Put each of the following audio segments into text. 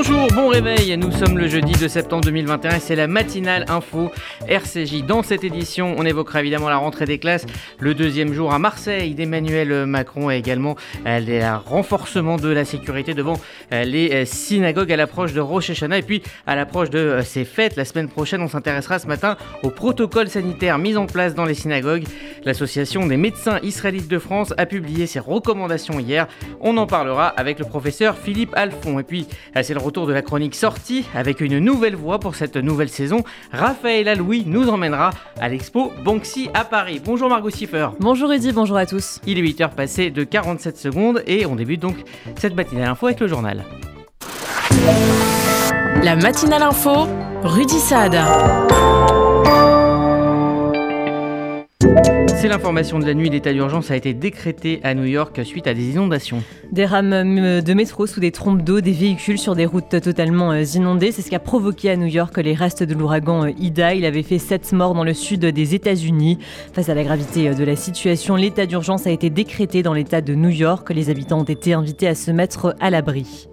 Bonjour, bon réveil, nous sommes le jeudi 2 septembre 2021 et c'est la matinale info RCJ. Dans cette édition, on évoquera évidemment la rentrée des classes, le deuxième jour à Marseille d'Emmanuel Macron et également le renforcement de la sécurité devant les synagogues à l'approche de Rosh Hashanah. Et puis à l'approche de ces fêtes, la semaine prochaine, on s'intéressera ce matin au protocole sanitaire mis en place dans les synagogues. L'association des médecins israélites de France a publié ses recommandations hier. On en parlera avec le professeur Philippe Alphon. Et puis, c'est le retour de la chronique sortie avec une nouvelle voix pour cette nouvelle saison. Raphaël Alouis nous emmènera à l'expo Banksy à Paris. Bonjour Margot Siffer. Bonjour Rudy, bonjour à tous. Il est 8h passé de 47 secondes et on débute donc cette matinale info avec le journal. La matinale info, Rudy Saad. C'est l'information de la nuit, l'état d'urgence a été décrété à New York suite à des inondations. Des rames de métro sous des trompes d'eau, des véhicules sur des routes totalement inondées. C'est ce qui a provoqué à New York les restes de l'ouragan Ida. Il avait fait 7 morts dans le sud des États-Unis. Face à la gravité de la situation, l'état d'urgence a été décrété dans l'état de New York. Les habitants ont été invités à se mettre à l'abri.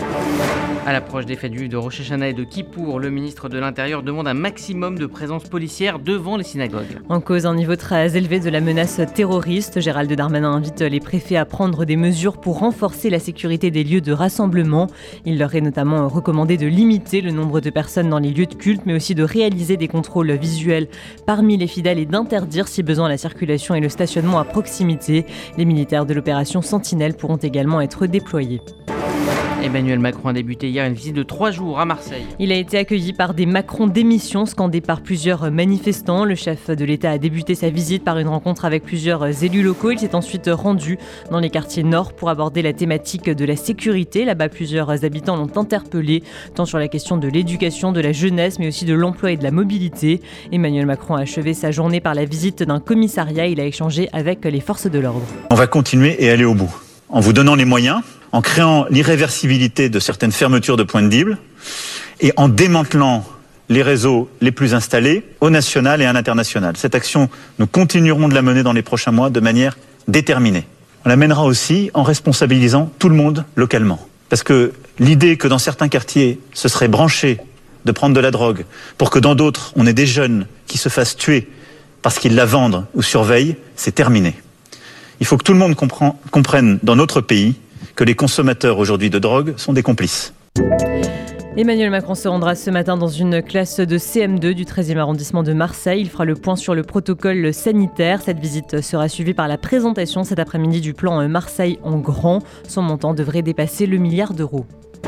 À l'approche des fêtes juives de Rosh Hashanah et de Kippour, le ministre de l'Intérieur demande un maximum de présence policière devant les synagogues. En cause, un niveau très élevé de la menace terroriste. Gérald Darmanin invite les préfets à prendre des mesures pour renforcer la sécurité des lieux de rassemblement. Il leur est notamment recommandé de limiter le nombre de personnes dans les lieux de culte, mais aussi de réaliser des contrôles visuels parmi les fidèles et d'interdire, si besoin, la circulation et le stationnement à proximité. Les militaires de l'opération Sentinelle pourront également être déployés. Emmanuel Macron a débuté hier une visite de 3 jours à Marseille. Il a été accueilli par des Macron démission scandés par plusieurs manifestants. Le chef de l'État a débuté sa visite par une rencontre avec plusieurs élus locaux. Il s'est ensuite rendu dans les quartiers nord pour aborder la thématique de la sécurité. Là-bas, plusieurs habitants l'ont interpellé, tant sur la question de l'éducation, de la jeunesse, mais aussi de l'emploi et de la mobilité. Emmanuel Macron a achevé sa journée par la visite d'un commissariat. Il a échangé avec les forces de l'ordre. On va continuer et aller au bout, en vous donnant les moyens, en créant l'irréversibilité de certaines fermetures de points de deal et en démantelant les réseaux les plus installés au national et à l'international. Cette action, nous continuerons de la mener dans les prochains mois de manière déterminée. On la mènera aussi en responsabilisant tout le monde localement. Parce que l'idée que dans certains quartiers, ce serait branché de prendre de la drogue pour que dans d'autres, on ait des jeunes qui se fassent tuer parce qu'ils la vendent ou surveillent, c'est terminé. Il faut que tout le monde comprenne dans notre pays que les consommateurs aujourd'hui de drogue sont des complices. Emmanuel Macron se rendra ce matin dans une classe de CM2 du 13e arrondissement de Marseille. Il fera le point sur le protocole sanitaire. Cette visite sera suivie par la présentation cet après-midi du plan Marseille en grand. Son montant devrait dépasser le milliard d'euros.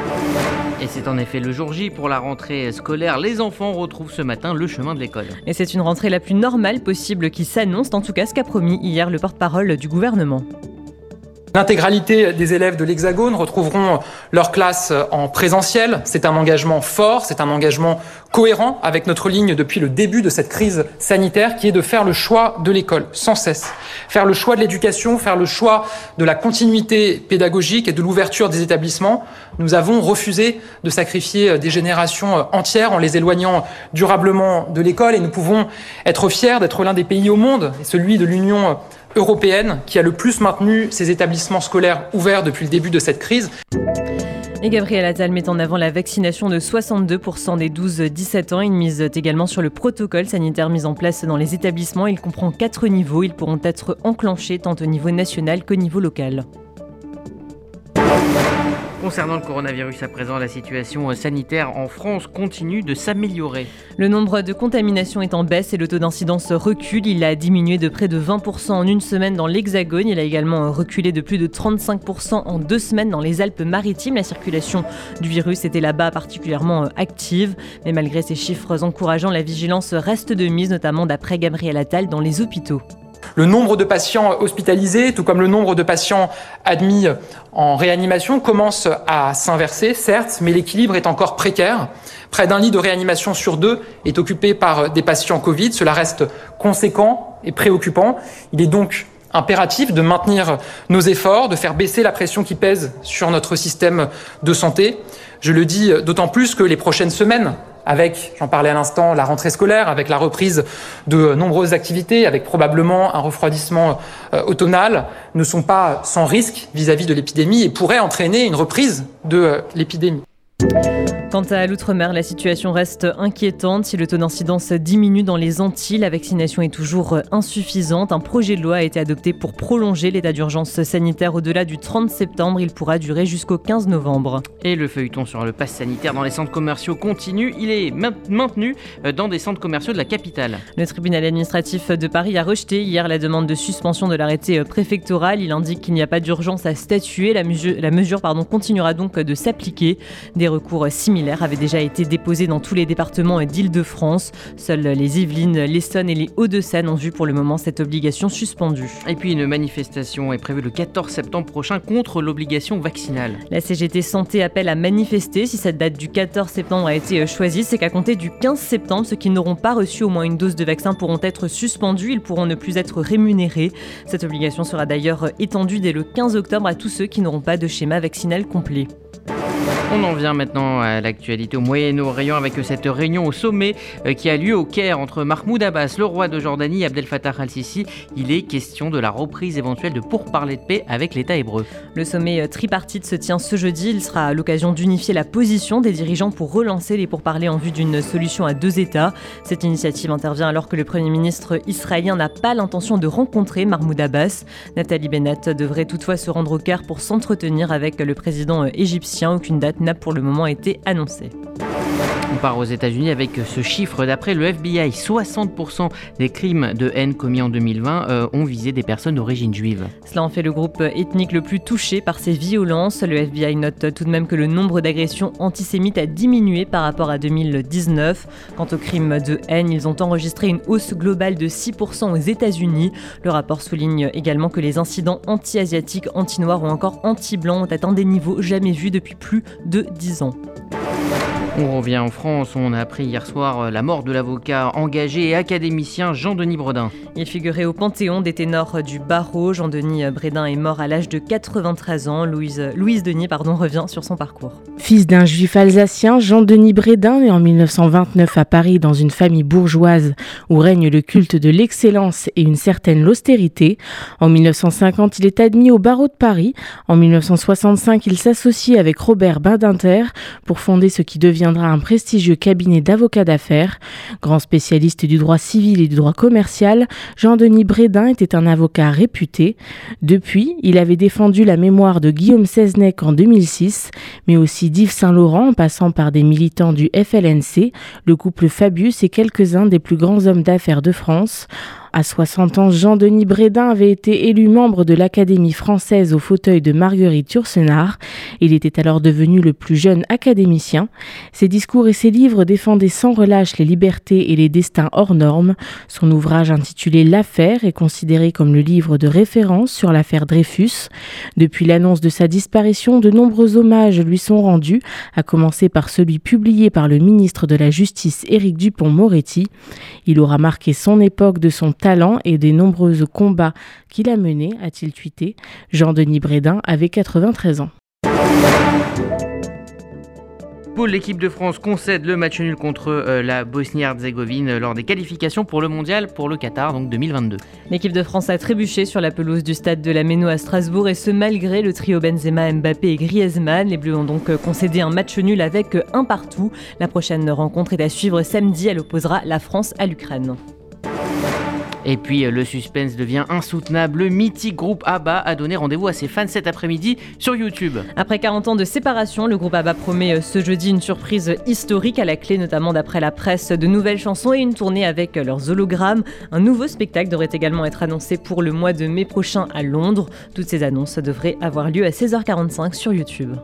Et c'est en effet le jour J pour la rentrée scolaire. Les enfants retrouvent ce matin le chemin de l'école. Et c'est une rentrée la plus normale possible qui s'annonce, en tout cas ce qu'a promis hier le porte-parole du gouvernement. L'intégralité des élèves de l'Hexagone retrouveront leur classe en présentiel. C'est un engagement fort, c'est un engagement cohérent avec notre ligne depuis le début de cette crise sanitaire qui est de faire le choix de l'école sans cesse. Faire le choix de l'éducation, faire le choix de la continuité pédagogique et de l'ouverture des établissements. Nous avons refusé de sacrifier des générations entières en les éloignant durablement de l'école et nous pouvons être fiers d'être l'un des pays au monde, et celui de l'Union européenne qui a le plus maintenu ses établissements scolaires ouverts depuis le début de cette crise. Et Gabriel Attal met en avant la vaccination de 62% des 12-17 ans. Il mise également sur le protocole sanitaire mis en place dans les établissements. Il comprend 4 niveaux. Ils pourront être enclenchés tant au niveau national qu'au niveau local. Concernant le coronavirus à présent, la situation sanitaire en France continue de s'améliorer. Le nombre de contaminations est en baisse et le taux d'incidence recule. Il a diminué de près de 20% en une semaine dans l'Hexagone. Il a également reculé de plus de 35% en 2 semaines dans les Alpes-Maritimes. La circulation du virus était là-bas particulièrement active. Mais malgré ces chiffres encourageants, la vigilance reste de mise, notamment d'après Gabriel Attal, dans les hôpitaux. Le nombre de patients hospitalisés, tout comme le nombre de patients admis en réanimation, commence à s'inverser, certes, mais l'équilibre est encore précaire. Près d'un lit de réanimation sur 2 est occupé par des patients Covid. Cela reste conséquent et préoccupant. Il est donc impératif de maintenir nos efforts, de faire baisser la pression qui pèse sur notre système de santé. Je le dis d'autant plus que les prochaines semaines, avec, j'en parlais à l'instant, la rentrée scolaire, avec la reprise de nombreuses activités, avec probablement un refroidissement automnal, ne sont pas sans risque vis-à-vis de l'épidémie et pourraient entraîner une reprise de l'épidémie. Quant à l'outre-mer, la situation reste inquiétante. Si le taux d'incidence diminue dans les Antilles, la vaccination est toujours insuffisante. Un projet de loi a été adopté pour prolonger l'état d'urgence sanitaire au-delà du 30 septembre. Il pourra durer jusqu'au 15 novembre. Et le feuilleton sur le pass sanitaire dans les centres commerciaux continue. Il est maintenu dans des centres commerciaux de la capitale. Le tribunal administratif de Paris a rejeté hier la demande de suspension de l'arrêté préfectoral. Il indique qu'il n'y a pas d'urgence à statuer. La mesure continuera donc de s'appliquer. Des recours similaires avaient déjà été déposés dans tous les départements d'Île-de-France. Seuls les Yvelines, l'Essonne et les Hauts-de-Seine ont vu pour le moment cette obligation suspendue. Et puis une manifestation est prévue le 14 septembre prochain contre l'obligation vaccinale. La CGT Santé appelle à manifester. Si cette date du 14 septembre a été choisie, c'est qu'à compter du 15 septembre, ceux qui n'auront pas reçu au moins une dose de vaccin pourront être suspendus. Ils pourront ne plus être rémunérés. Cette obligation sera d'ailleurs étendue dès le 15 octobre à tous ceux qui n'auront pas de schéma vaccinal complet. On en vient maintenant à l'actualité au Moyen-Orient avec cette réunion au sommet qui a lieu au Caire entre Mahmoud Abbas, le roi de Jordanie, et Abdel Fattah al-Sisi. Il est question de la reprise éventuelle de pourparlers de paix avec l'État hébreu. Le sommet tripartite se tient ce jeudi. Il sera à l'occasion d'unifier la position des dirigeants pour relancer les pourparlers en vue d'une solution à 2 États. Cette initiative intervient alors que le Premier ministre israélien n'a pas l'intention de rencontrer Mahmoud Abbas. Nathalie Bennett devrait toutefois se rendre au Caire pour s'entretenir avec le président égyptien. Aucune date n'a pour le moment été annoncée. On part aux États-Unis avec ce chiffre. D'après le FBI, 60% des crimes de haine commis en 2020 ont visé des personnes d'origine juive. Cela en fait le groupe ethnique le plus touché par ces violences. Le FBI note tout de même que le nombre d'agressions antisémites a diminué par rapport à 2019. Quant aux crimes de haine, ils ont enregistré une hausse globale de 6% aux États-Unis. Le rapport souligne également que les incidents anti-asiatiques, anti-noirs ou encore anti-blancs ont atteint des niveaux jamais vus depuis plus de 10 ans. On revient en France, on a appris hier soir la mort de l'avocat engagé et académicien Jean-Denis Bredin. Il figurait au panthéon des ténors du barreau. Jean-Denis Bredin est mort à l'âge de 93 ans. Louise Denis revient sur son parcours. Fils d'un juif alsacien, Jean-Denis Bredin, né en 1929 à Paris dans une famille bourgeoise où règne le culte de l'excellence et une certaine austérité. En 1950, il est admis au barreau de Paris. En 1965, il s'associe avec Robert Badinter pour fonder ce qui deviendra un prestigieux cabinet d'avocats d'affaires. Grand spécialiste du droit civil et du droit commercial, Jean-Denis Bredin était un avocat réputé. Depuis, il avait défendu la mémoire de Guillaume Seznec en 2006, mais aussi d'Yves Saint-Laurent en passant par des militants du FLNC, le couple Fabius et quelques-uns des plus grands hommes d'affaires de France. À 60 ans, Jean-Denis Bredin avait été élu membre de l'Académie française au fauteuil de Marguerite Yourcenar. Il était alors devenu le plus jeune académicien. Ses discours et ses livres défendaient sans relâche les libertés et les destins hors normes. Son ouvrage intitulé L'Affaire est considéré comme le livre de référence sur l'affaire Dreyfus. Depuis l'annonce de sa disparition, de nombreux hommages lui sont rendus, à commencer par celui publié par le ministre de la Justice Éric Dupond-Moretti. Il aura marqué son époque de son talent et des nombreux combats qu'il a menés, a-t-il tweeté. Jean-Denis Bredin avait 93 ans. Pour l'équipe de France concède le match nul contre la Bosnie-Herzégovine lors des qualifications pour le mondial pour le Qatar, donc 2022. L'équipe de France a trébuché sur la pelouse du stade de la Méno à Strasbourg et ce malgré le trio Benzema, Mbappé et Griezmann. Les Bleus ont donc concédé un match nul avec 1 partout. La prochaine rencontre est à suivre samedi. Elle opposera la France à l'Ukraine. Et puis le suspense devient insoutenable. Le mythique groupe ABBA a donné rendez-vous à ses fans cet après-midi sur YouTube. Après 40 ans de séparation, le groupe ABBA promet ce jeudi une surprise historique à la clé, notamment d'après la presse, de nouvelles chansons et une tournée avec leurs hologrammes. Un nouveau spectacle devrait également être annoncé pour le mois de mai prochain à Londres. Toutes ces annonces devraient avoir lieu à 16h45 sur YouTube.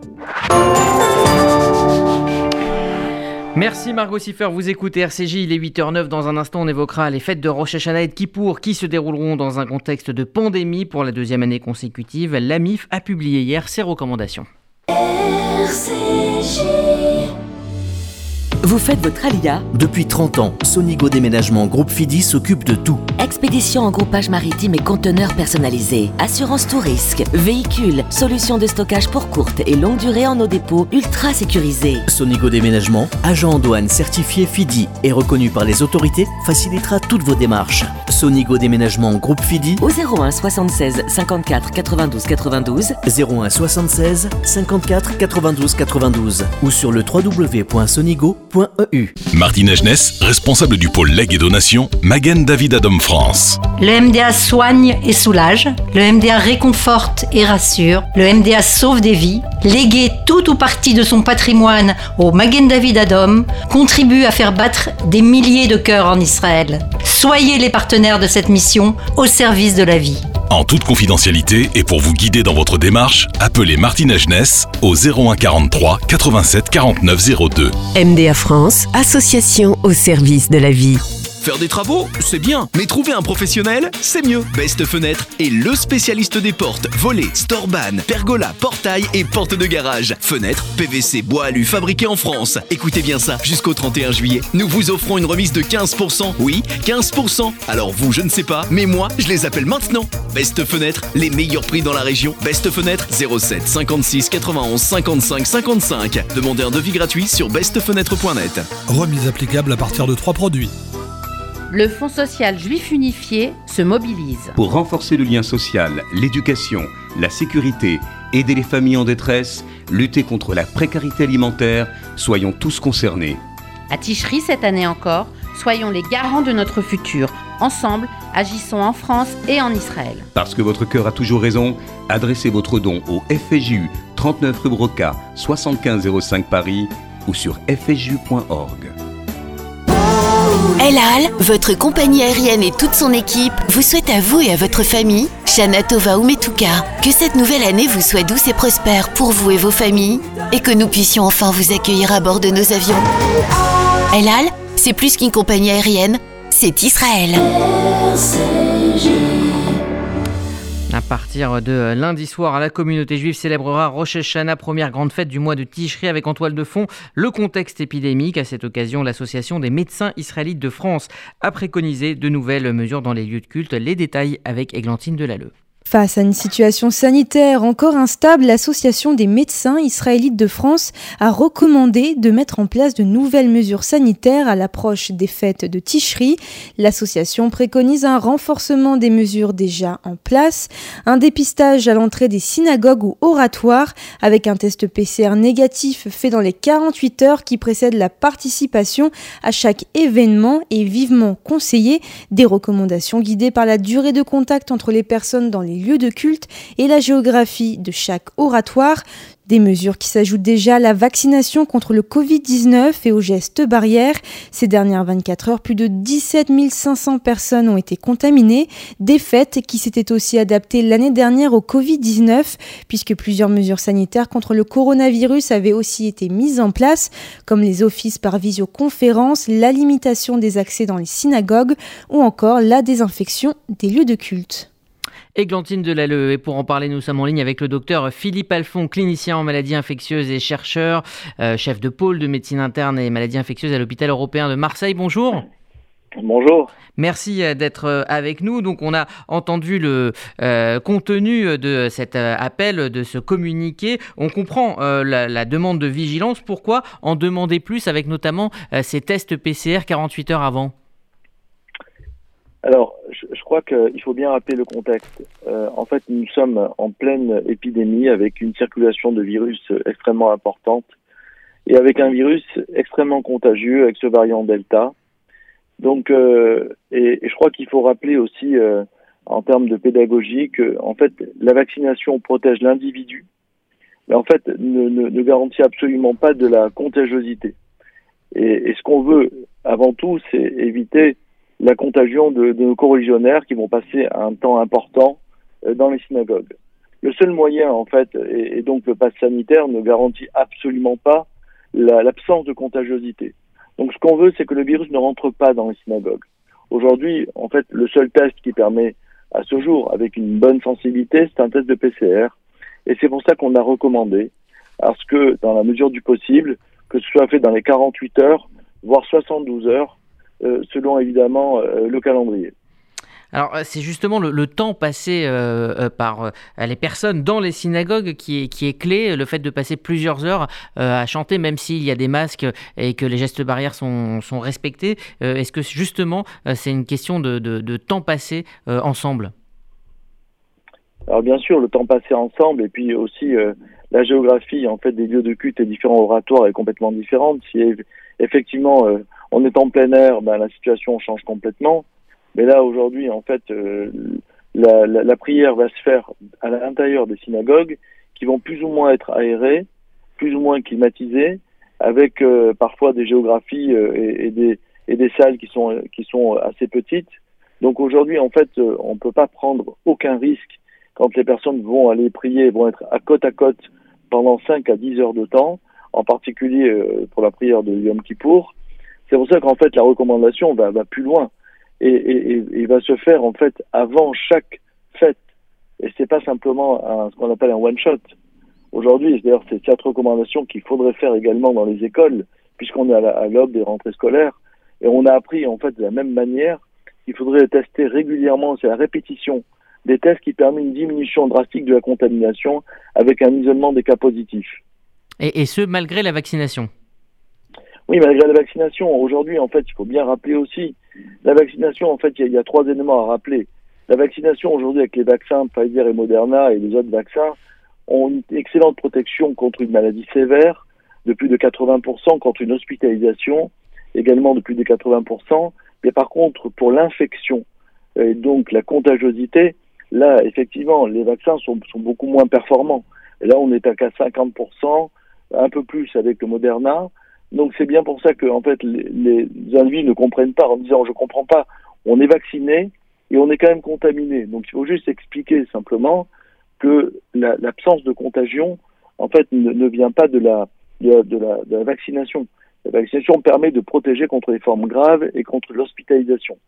Merci Margot Siffer, vous écoutez RCJ, il est 8h09. Dans un instant, on évoquera les fêtes de Rosh Hashanah et de Kippour qui se dérouleront dans un contexte de pandémie pour la 2e année consécutive. L'AMIF a publié hier ses recommandations. RCJ. Vous faites votre alia? Depuis 30 ans, Sonigo Déménagement Groupe Fidi s'occupe de tout. Expédition en groupage maritime et conteneurs personnalisés. Assurance tout risque. Véhicules. Solutions de stockage pour courte et longue durée en nos dépôts ultra sécurisés. Sonigo Déménagement, agent en douane certifié Fidi et reconnu par les autorités, facilitera toutes vos démarches. Sonigo Déménagement Groupe Fidi au 01 76 54 92 92 01 76 54 92 92 ou sur le www.sonigo.eu. Martine Agenès, responsable du pôle legs et donation, Magen David Adom France. Le MDA soigne et soulage, le MDA réconforte et rassure, le MDA sauve des vies. Léguer tout ou partie de son patrimoine au Magen David Adom contribue à faire battre des milliers de cœurs en Israël. Soyez les partenaires de cette mission au service de la vie. En toute confidentialité et pour vous guider dans votre démarche, appelez Martine Agenès au 01 43 87 49 02. MDA France, association au service de la vie. Faire des travaux, c'est bien, mais trouver un professionnel, c'est mieux. Best Fenêtre est le spécialiste des portes, volets, storban, pergola, portail et portes de garage. Fenêtres, PVC, bois alu fabriqués en France. Écoutez bien ça, jusqu'au 31 juillet, nous vous offrons une remise de 15%. Oui, 15%. Alors vous, je ne sais pas, mais moi, je les appelle maintenant. Best Fenêtre, les meilleurs prix dans la région. Best Fenêtre, 07 56 91 55 55. Demandez un devis gratuit sur bestfenêtre.net. Remise applicable à partir de 3 produits. Le Fonds social juif unifié se mobilise. Pour renforcer le lien social, l'éducation, la sécurité, aider les familles en détresse, lutter contre la précarité alimentaire, soyons tous concernés. À Ticherie cette année encore, soyons les garants de notre futur. Ensemble, agissons en France et en Israël. Parce que votre cœur a toujours raison, adressez votre don au FSJU 39 rue Broca, 7505 Paris ou sur fsju.org. El Al, votre compagnie aérienne et toute son équipe vous souhaitent à vous et à votre famille, Shana Tova Umetuka, que cette nouvelle année vous soit douce et prospère pour vous et vos familles et que nous puissions enfin vous accueillir à bord de nos avions. El Al, c'est plus qu'une compagnie aérienne, c'est Israël. À partir de lundi soir, la communauté juive célébrera Rosh Hashanah, première grande fête du mois de Tishri, avec en toile de fond le contexte épidémique. À cette occasion, l'association des médecins israélites de France a préconisé de nouvelles mesures dans les lieux de culte. Les détails avec Églantine Delalleux. Face à une situation sanitaire encore instable, l'Association des médecins israélites de France a recommandé de mettre en place de nouvelles mesures sanitaires à l'approche des fêtes de Tishri. L'association préconise un renforcement des mesures déjà en place, un dépistage à l'entrée des synagogues ou oratoires avec un test PCR négatif fait dans les 48 heures qui précèdent la participation à chaque événement et vivement conseillé, des recommandations guidées par la durée de contact entre les personnes dans les lieux de culte et la géographie de chaque oratoire. Des mesures qui s'ajoutent déjà à la vaccination contre le Covid-19 et aux gestes barrières. Ces dernières 24 heures, plus de 17 500 personnes ont été contaminées. Des fêtes qui s'étaient aussi adaptées l'année dernière au Covid-19, puisque plusieurs mesures sanitaires contre le coronavirus avaient aussi été mises en place, comme les offices par visioconférence, la limitation des accès dans les synagogues ou encore la désinfection des lieux de culte. Églantine Delalleux, et pour en parler, nous sommes en ligne avec le docteur Philippe Alphon, clinicien en maladies infectieuses et chercheur, chef de pôle de médecine interne et maladies infectieuses à l'hôpital européen de Marseille. Bonjour. Bonjour. Merci d'être avec nous. Donc on a entendu le contenu de cet appel, de ce communiqué. On comprend la demande de vigilance. Pourquoi en demander plus avec notamment ces tests PCR 48 heures avant ? Alors, je crois qu'il faut bien rappeler le contexte. En fait, nous sommes en pleine épidémie avec une circulation de virus extrêmement importante et avec un virus extrêmement contagieux avec ce variant Delta. Donc, et je crois qu'il faut rappeler aussi, en termes de pédagogie, que en fait, la vaccination protège l'individu, mais en fait, ne garantit absolument pas de la contagiosité. Et ce qu'on veut, avant tout, c'est éviter la contagion de nos coreligionnaires qui vont passer un temps important dans les synagogues. Le seul moyen, en fait, et donc le pass sanitaire ne garantit absolument pas l'absence de contagiosité. Donc ce qu'on veut, c'est que le virus ne rentre pas dans les synagogues. Aujourd'hui, en fait, le seul test qui permet à ce jour, avec une bonne sensibilité, c'est un test de PCR. Et c'est pour ça qu'on a recommandé, parce que dans la mesure du possible, que ce soit fait dans les 48 heures, voire 72 heures, selon évidemment le calendrier. Alors, c'est justement le temps passé par les personnes dans les synagogues qui est clé, le fait de passer plusieurs heures à chanter, même s'il y a des masques et que les gestes barrières sont respectés. Est-ce que justement, c'est une question de temps passé ensemble ? Alors bien sûr, le temps passé ensemble et puis aussi la géographie en fait des lieux de culte et différents oratoires est complètement différente. Si effectivement on est en plein air, la situation change complètement. Mais là, aujourd'hui, en fait, la prière va se faire à l'intérieur des synagogues qui vont plus ou moins être aérées, plus ou moins climatisées, avec parfois des géographies et des salles qui sont assez petites. Donc aujourd'hui, en fait, on ne peut pas prendre aucun risque quand les personnes vont aller prier, vont être à côte pendant 5 à 10 heures de temps, en particulier pour la prière de Yom Kippour. C'est pour ça qu'en fait, la recommandation va plus loin. Et va se faire en fait avant chaque fête. Et c'est pas simplement ce qu'on appelle un one shot. Aujourd'hui, d'ailleurs, c'est cette recommandation qu'il faudrait faire également dans les écoles, puisqu'on est à l'aube des rentrées scolaires. Et on a appris en fait de la même manière qu'il faudrait tester régulièrement. C'est la répétition des tests qui permet une diminution drastique de la contamination avec un isolement des cas positifs. Et ce, malgré la vaccination. Oui, malgré la vaccination. Aujourd'hui, en fait, il faut bien rappeler aussi, la vaccination, en fait, il y a 3 éléments à rappeler. La vaccination, aujourd'hui, avec les vaccins Pfizer et Moderna et les autres vaccins, ont une excellente protection contre une maladie sévère, de plus de 80%, contre une hospitalisation, également de plus de 80%. Mais par contre, pour l'infection, et donc la contagiosité, là, effectivement, les vaccins sont beaucoup moins performants. Et là, on est à 50%, un peu plus avec le Moderna. Donc c'est bien pour ça que en fait les individus ne comprennent pas en disant je comprends pas, on est vacciné et on est quand même contaminé. Donc il faut juste expliquer simplement que l'absence de contagion en fait ne vient pas de la vaccination. La vaccination permet de protéger contre les formes graves et contre l'hospitalisation.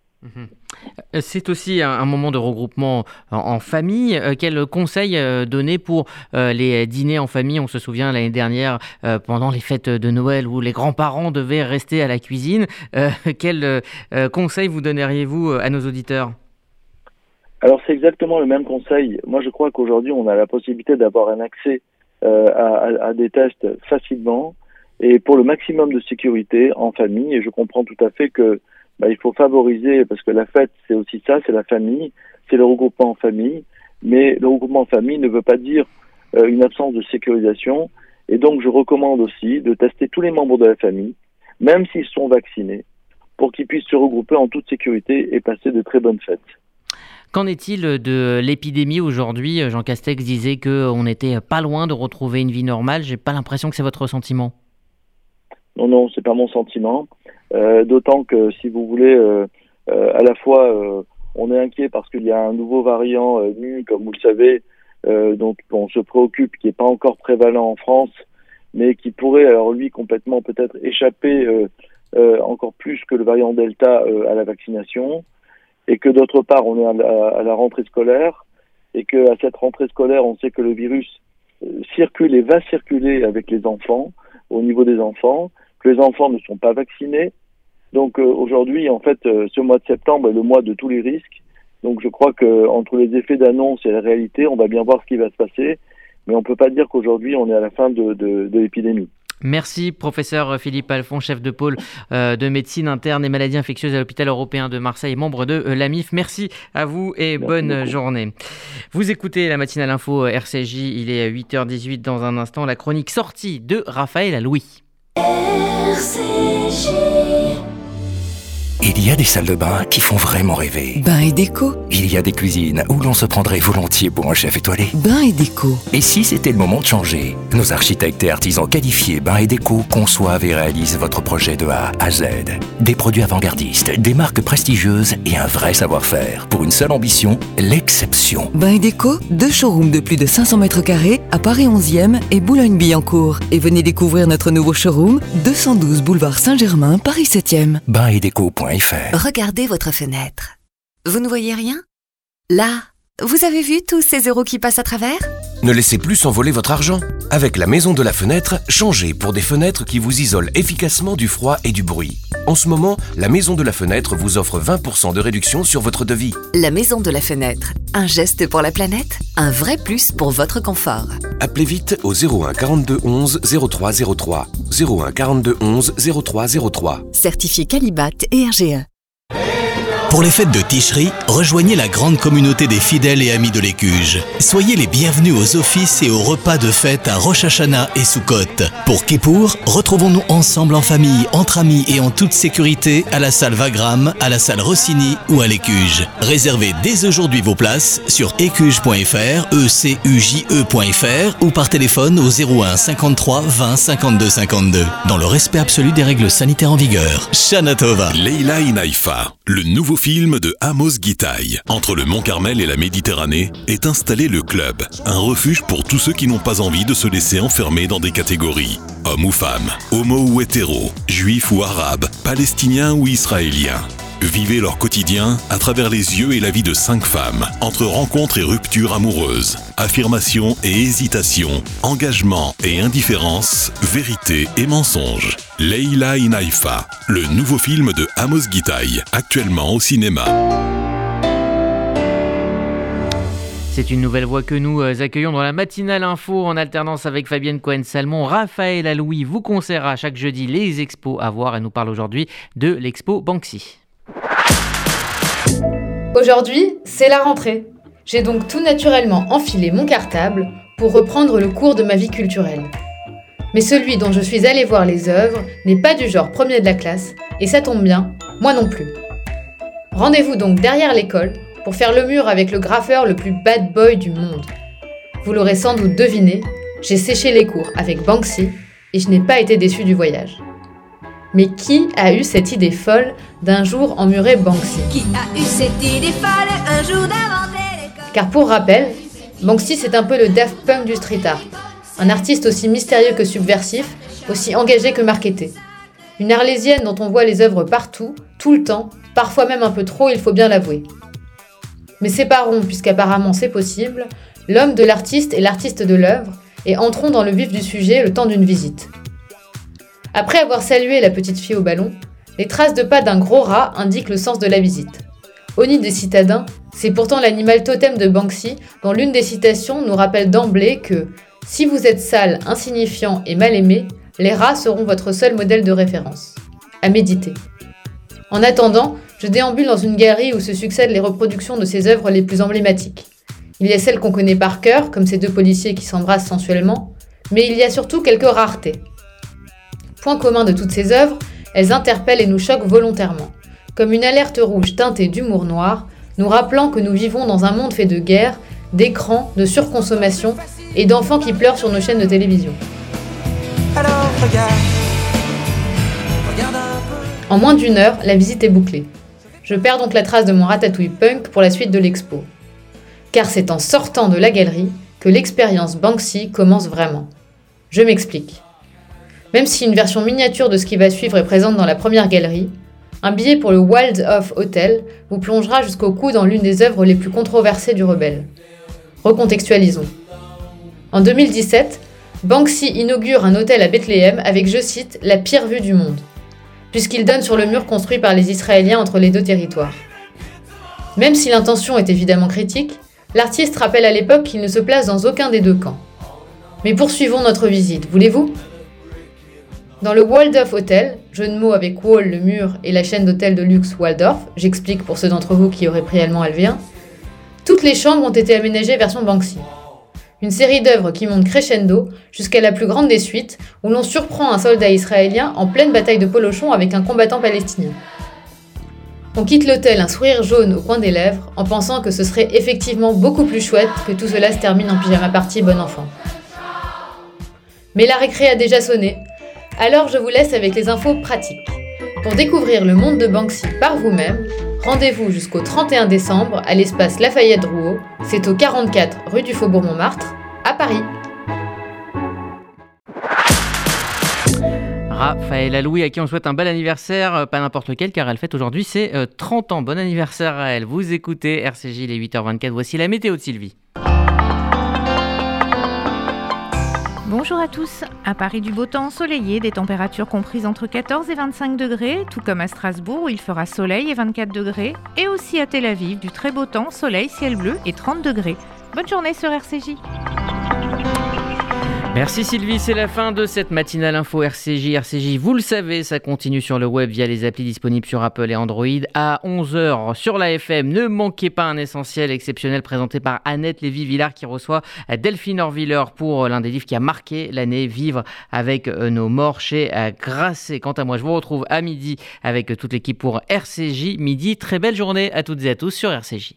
C'est aussi un moment de regroupement en famille. Quel conseil donner pour les dîners en famille ? On se souvient l'année dernière, pendant les fêtes de Noël, où les grands-parents devaient rester à la cuisine. Quel conseil vous donneriez-vous à nos auditeurs ? Alors c'est exactement le même conseil. Moi je crois qu'aujourd'hui on a la possibilité d'avoir un accès à des tests facilement et pour le maximum de sécurité en famille. Et je comprends tout à fait que il faut favoriser, parce que la fête, c'est aussi ça, c'est la famille, c'est le regroupement en famille, mais le regroupement en famille ne veut pas dire une absence de sécurisation, et donc je recommande aussi de tester tous les membres de la famille, même s'ils sont vaccinés, pour qu'ils puissent se regrouper en toute sécurité et passer de très bonnes fêtes. Qu'en est-il de l'épidémie aujourd'hui ? Jean Castex disait qu'on n'était pas loin de retrouver une vie normale, j'ai pas l'impression que c'est votre ressentiment. Non, c'est pas mon sentiment. D'autant que, si vous voulez, à la fois, on est inquiet parce qu'il y a un nouveau variant nu, comme vous le savez, dont on se préoccupe, qui n'est pas encore prévalent en France, mais qui pourrait, alors lui, complètement peut-être échapper encore plus que le variant Delta à la vaccination, et que d'autre part, on est à la rentrée scolaire, et qu'à cette rentrée scolaire, on sait que le virus circule et va circuler avec les enfants, au niveau des enfants, que les enfants ne sont pas vaccinés. Donc aujourd'hui, en fait, ce mois de septembre est le mois de tous les risques. Donc je crois que entre les effets d'annonce et la réalité, on va bien voir ce qui va se passer. Mais on ne peut pas dire qu'aujourd'hui, on est à la fin de l'épidémie. Merci, professeur Philippe Alphon, chef de pôle de médecine interne et maladies infectieuses à l'hôpital européen de Marseille, membre de l'AMIF. Merci à vous et bonne journée. Vous écoutez la matinale info RCJ, il est 8h18 dans un instant. La chronique sortie de Raphaël Alouis. RCJ. Il y a des salles de bain qui font vraiment rêver. Bain et déco. Il y a des cuisines où l'on se prendrait volontiers pour un chef étoilé. Bain et déco. Et si c'était le moment de changer ? Nos architectes et artisans qualifiés Bain et déco conçoivent et réalisent votre projet de A à Z. Des produits avant-gardistes, des marques prestigieuses et un vrai savoir-faire. Pour une seule ambition, l'exception. Bain et déco, 2 showrooms de plus de 500 mètres carrés à Paris 11e et Boulogne-Billancourt. Et venez découvrir notre nouveau showroom, 212 boulevard Saint-Germain, Paris 7e. Bainetdeco.fr. Regardez votre fenêtre. Vous ne voyez rien ? Là, vous avez vu tous ces euros qui passent à travers ? Ne laissez plus s'envoler votre argent. Avec la Maison de la Fenêtre, changez pour des fenêtres qui vous isolent efficacement du froid et du bruit. En ce moment, la Maison de la Fenêtre vous offre 20% de réduction sur votre devis. La Maison de la Fenêtre. Un geste pour la planète, un vrai plus pour votre confort. Appelez vite au 01 42 11 03 03. 01 42 11 03 03. Certifié Qualibat et RGE. Pour les fêtes de Ticherie, rejoignez la grande communauté des fidèles et amis de l'Écuge. Soyez les bienvenus aux offices et aux repas de fête à Rosh Hashanah et Sukkot. Pour Kippour, retrouvons-nous ensemble en famille, entre amis et en toute sécurité à la salle Wagram, à la salle Rossini ou à l'Écuge. Réservez dès aujourd'hui vos places sur écuge.fr, ecuje.fr ou par téléphone au 01 53 20 52 52. Dans le respect absolu des règles sanitaires en vigueur. Shana Tova. Leila in Haïfa, le nouveau film de Amos Gitaï. Entre le Mont Carmel et la Méditerranée est installé le Club, un refuge pour tous ceux qui n'ont pas envie de se laisser enfermer dans des catégories. Homme ou femme, homo ou hétéro, juif ou arabe, palestinien ou israélien. Vivez leur quotidien à travers les yeux et la vie de 5 femmes, entre rencontres et ruptures amoureuses, affirmation et hésitation, engagement et indifférence, vérité et mensonge. Leila in Haïfa, le nouveau film de Amos Gitaï, actuellement au cinéma. C'est une nouvelle voix que nous accueillons dans la matinale info en alternance avec Fabienne Cohen-Salmon. Raphaël Alouis vous conseillera chaque jeudi les expos à voir et nous parle aujourd'hui de l'expo Banksy. Aujourd'hui, c'est la rentrée. J'ai donc tout naturellement enfilé mon cartable pour reprendre le cours de ma vie culturelle. Mais celui dont je suis allée voir les œuvres n'est pas du genre premier de la classe, et ça tombe bien, moi non plus. Rendez-vous donc derrière l'école pour faire le mur avec le graffeur le plus bad boy du monde. Vous l'aurez sans doute deviné, j'ai séché les cours avec Banksy et je n'ai pas été déçue du voyage. Mais qui a eu cette idée folle d'un jour emmurer Banksy ? Qui a eu cette idée folle un jour d'inventer l'école ? Car pour rappel, Banksy c'est un peu le Daft Punk du street art. Un artiste aussi mystérieux que subversif, aussi engagé que marketé. Une arlésienne dont on voit les œuvres partout, tout le temps, parfois même un peu trop, il faut bien l'avouer. Mais séparons, puisqu'apparemment c'est possible, l'homme de l'artiste et l'artiste de l'œuvre, et entrons dans le vif du sujet le temps d'une visite. Après avoir salué la petite fille au ballon, les traces de pas d'un gros rat indiquent le sens de la visite. Au nid des citadins, c'est pourtant l'animal totem de Banksy, dont l'une des citations nous rappelle d'emblée que « Si vous êtes sale, insignifiant et mal aimé, les rats seront votre seul modèle de référence. » À méditer. En attendant, je déambule dans une galerie où se succèdent les reproductions de ses œuvres les plus emblématiques. Il y a celles qu'on connaît par cœur, comme ces deux policiers qui s'embrassent sensuellement, mais il y a surtout quelques raretés. Point commun de toutes ces œuvres, elles interpellent et nous choquent volontairement, comme une alerte rouge teintée d'humour noir, nous rappelant que nous vivons dans un monde fait de guerre, d'écrans, de surconsommation et d'enfants qui pleurent sur nos chaînes de télévision. Alors regarde un peu. En moins d'1 heure, la visite est bouclée. Je perds donc la trace de mon ratatouille punk pour la suite de l'expo. Car c'est en sortant de la galerie que l'expérience Banksy commence vraiment. Je m'explique. Même si une version miniature de ce qui va suivre est présente dans la première galerie, un billet pour le Waldorf Hotel vous plongera jusqu'au cou dans l'une des œuvres les plus controversées du rebelle. Recontextualisons. En 2017, Banksy inaugure un hôtel à Bethléem avec, je cite, « la pire vue du monde », puisqu'il donne sur le mur construit par les Israéliens entre les deux territoires. Même si l'intention est évidemment critique, l'artiste rappelle à l'époque qu'il ne se place dans aucun des deux camps. Mais poursuivons notre visite, voulez-vous ? Dans le Waldorf Hotel, jeu de mots avec Wall, le mur, et la chaîne d'hôtels de luxe Waldorf, j'explique pour ceux d'entre vous qui auraient pris allemand LV1, toutes les chambres ont été aménagées version Banksy. Une série d'œuvres qui monte crescendo jusqu'à la plus grande des suites, où l'on surprend un soldat israélien en pleine bataille de Polochon avec un combattant palestinien. On quitte l'hôtel un sourire jaune au coin des lèvres, en pensant que ce serait effectivement beaucoup plus chouette que tout cela se termine en pyjama party bon enfant. Mais la récré a déjà sonné, alors je vous laisse avec les infos pratiques. Pour découvrir le monde de Banksy par vous-même, rendez-vous jusqu'au 31 décembre à l'espace Lafayette-Drouot, c'est au 44 rue du Faubourg-Montmartre, à Paris. Raphaël Alouis, à qui on souhaite un bel anniversaire, pas n'importe lequel, car elle fête aujourd'hui ses 30 ans. Bon anniversaire à elle. Vous écoutez RCJ, les 8h24. Voici la météo de Sylvie. Bonjour à tous. À Paris, du beau temps ensoleillé, des températures comprises entre 14 et 25 degrés, tout comme à Strasbourg où il fera soleil et 24 degrés, et aussi à Tel Aviv, du très beau temps, soleil, ciel bleu et 30 degrés. Bonne journée sur RCJ. Merci Sylvie, c'est la fin de cette matinale info RCJ. RCJ, vous le savez, ça continue sur le web via les applis disponibles sur Apple et Android. À 11h sur la FM, ne manquez pas un essentiel exceptionnel présenté par Annette Lévy-Villard qui reçoit Delphine Orviller pour l'un des livres qui a marqué l'année, Vivre avec nos morts chez Grasset. Quant à moi, je vous retrouve à midi avec toute l'équipe pour RCJ Midi. Très belle journée à toutes et à tous sur RCJ.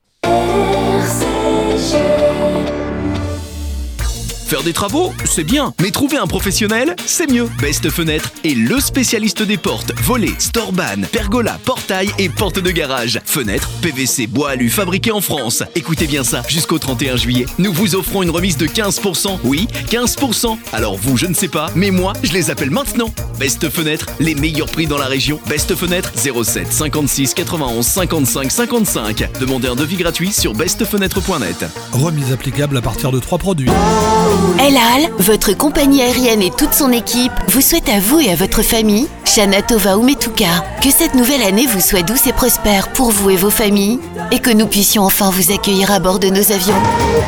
Faire des travaux, c'est bien, mais trouver un professionnel, c'est mieux. Best Fenêtre est le spécialiste des portes, volets, storban, pergola, portail et portes de garage. Fenêtres, PVC, bois alu fabriqués en France. Écoutez bien ça, jusqu'au 31 juillet, nous vous offrons une remise de 15%. Oui, 15%. Alors vous, je ne sais pas, mais moi, je les appelle maintenant. Best Fenêtre, les meilleurs prix dans la région. Best Fenêtre, 07 56 91 55 55. Demandez un devis gratuit sur bestfenêtre.net. Remise applicable à partir de 3 produits. El Al, votre compagnie aérienne et toute son équipe vous souhaitent à vous et à votre famille, Shana Tova Umetuka, que cette nouvelle année vous soit douce et prospère pour vous et vos familles et que nous puissions enfin vous accueillir à bord de nos avions.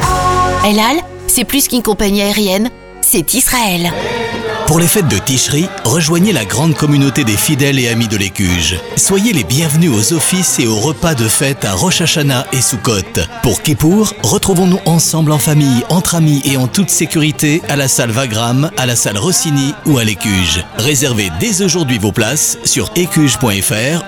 El Al, c'est plus qu'une compagnie aérienne, c'est Israël. Pour les fêtes de Tishri, rejoignez la grande communauté des fidèles et amis de l'Écuge. Soyez les bienvenus aux offices et aux repas de fête à Rosh Hashanah et Sukkot. Pour Kippour, retrouvons-nous ensemble en famille, entre amis et en toute sécurité à la salle Wagram, à la salle Rossini ou à l'Écuge. Réservez dès aujourd'hui vos places sur écuge.fr,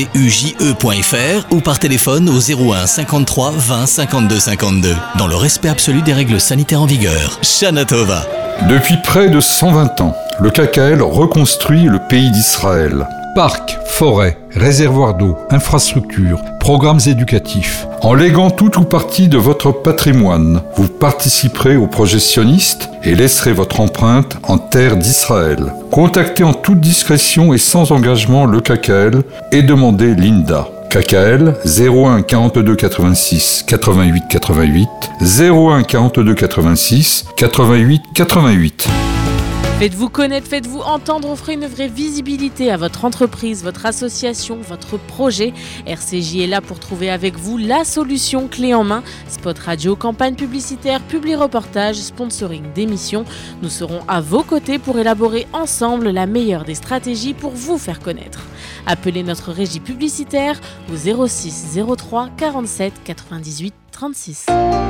ecuje.fr ou par téléphone au 01 53 20 52 52. Dans le respect absolu des règles sanitaires en vigueur. Shana Tova. Depuis près de 120 ans, le KKL reconstruit le pays d'Israël. Parcs, forêts, réservoirs d'eau, infrastructures, programmes éducatifs. En léguant tout ou partie de votre patrimoine, vous participerez au projet sioniste et laisserez votre empreinte en terre d'Israël. Contactez en toute discrétion et sans engagement le KKL et demandez l'INDA. KKL 01 42 86 88 88 01 42 86 88 88. Faites-vous connaître, faites-vous entendre, offrez une vraie visibilité à votre entreprise, votre association, votre projet. RCJ est là pour trouver avec vous la solution clé en main. Spot radio, campagne publicitaire, publi-reportage, sponsoring d'émissions. Nous serons à vos côtés pour élaborer ensemble la meilleure des stratégies pour vous faire connaître. Appelez notre régie publicitaire au 06 03 47 98 36.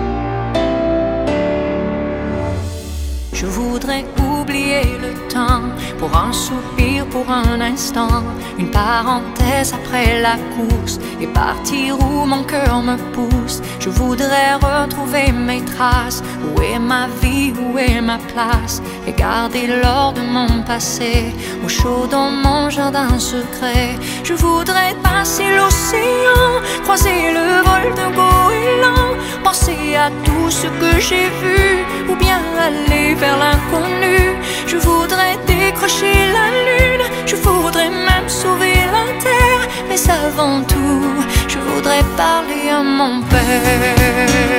Je voudrais oublier le temps pour un soupir, pour un instant, une parenthèse après la course et partir où mon cœur me pousse. Je voudrais retrouver mes traces. Où est ma vie, où est ma place? Et garder l'or de mon passé au chaud dans mon jardin secret. Je voudrais passer l'océan, croiser le vol d'un goéland, penser à tout ce que j'ai vu, ou bien aller vers l'inconnu. Je voudrais décrocher la lune, je voudrais même sauver la terre. Mais avant tout, je voudrais parler à mon père.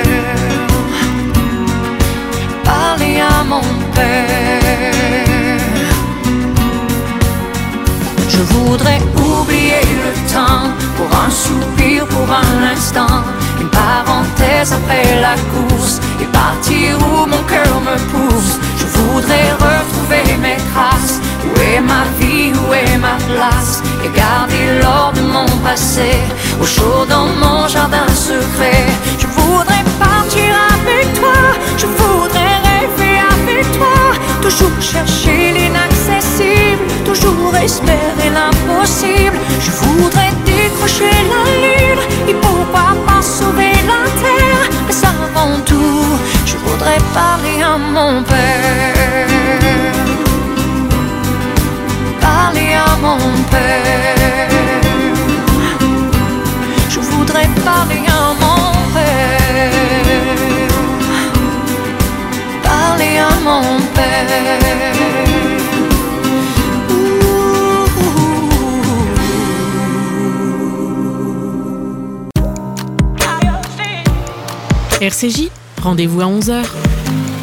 Parler à mon père. Je voudrais oublier le temps pour un soupir, pour un instant, une parenthèse après la course et partir où mon cœur me pousse. Je voudrais retrouver mes traces. Où est ma vie, où est ma place? Et garder l'or de mon passé au chaud dans mon jardin secret. Je voudrais partir avec toi, je voudrais rêver avec toi, toujours chercher l'inaccessible, toujours espérer l'impossible. Je voudrais décrocher la lune et pourquoi pas sauver la terre. Mais avant tout, je voudrais parler à mon père. Parler à mon père. Je voudrais parler à mon père. Parler à mon père. RCJ, rendez-vous à 11h.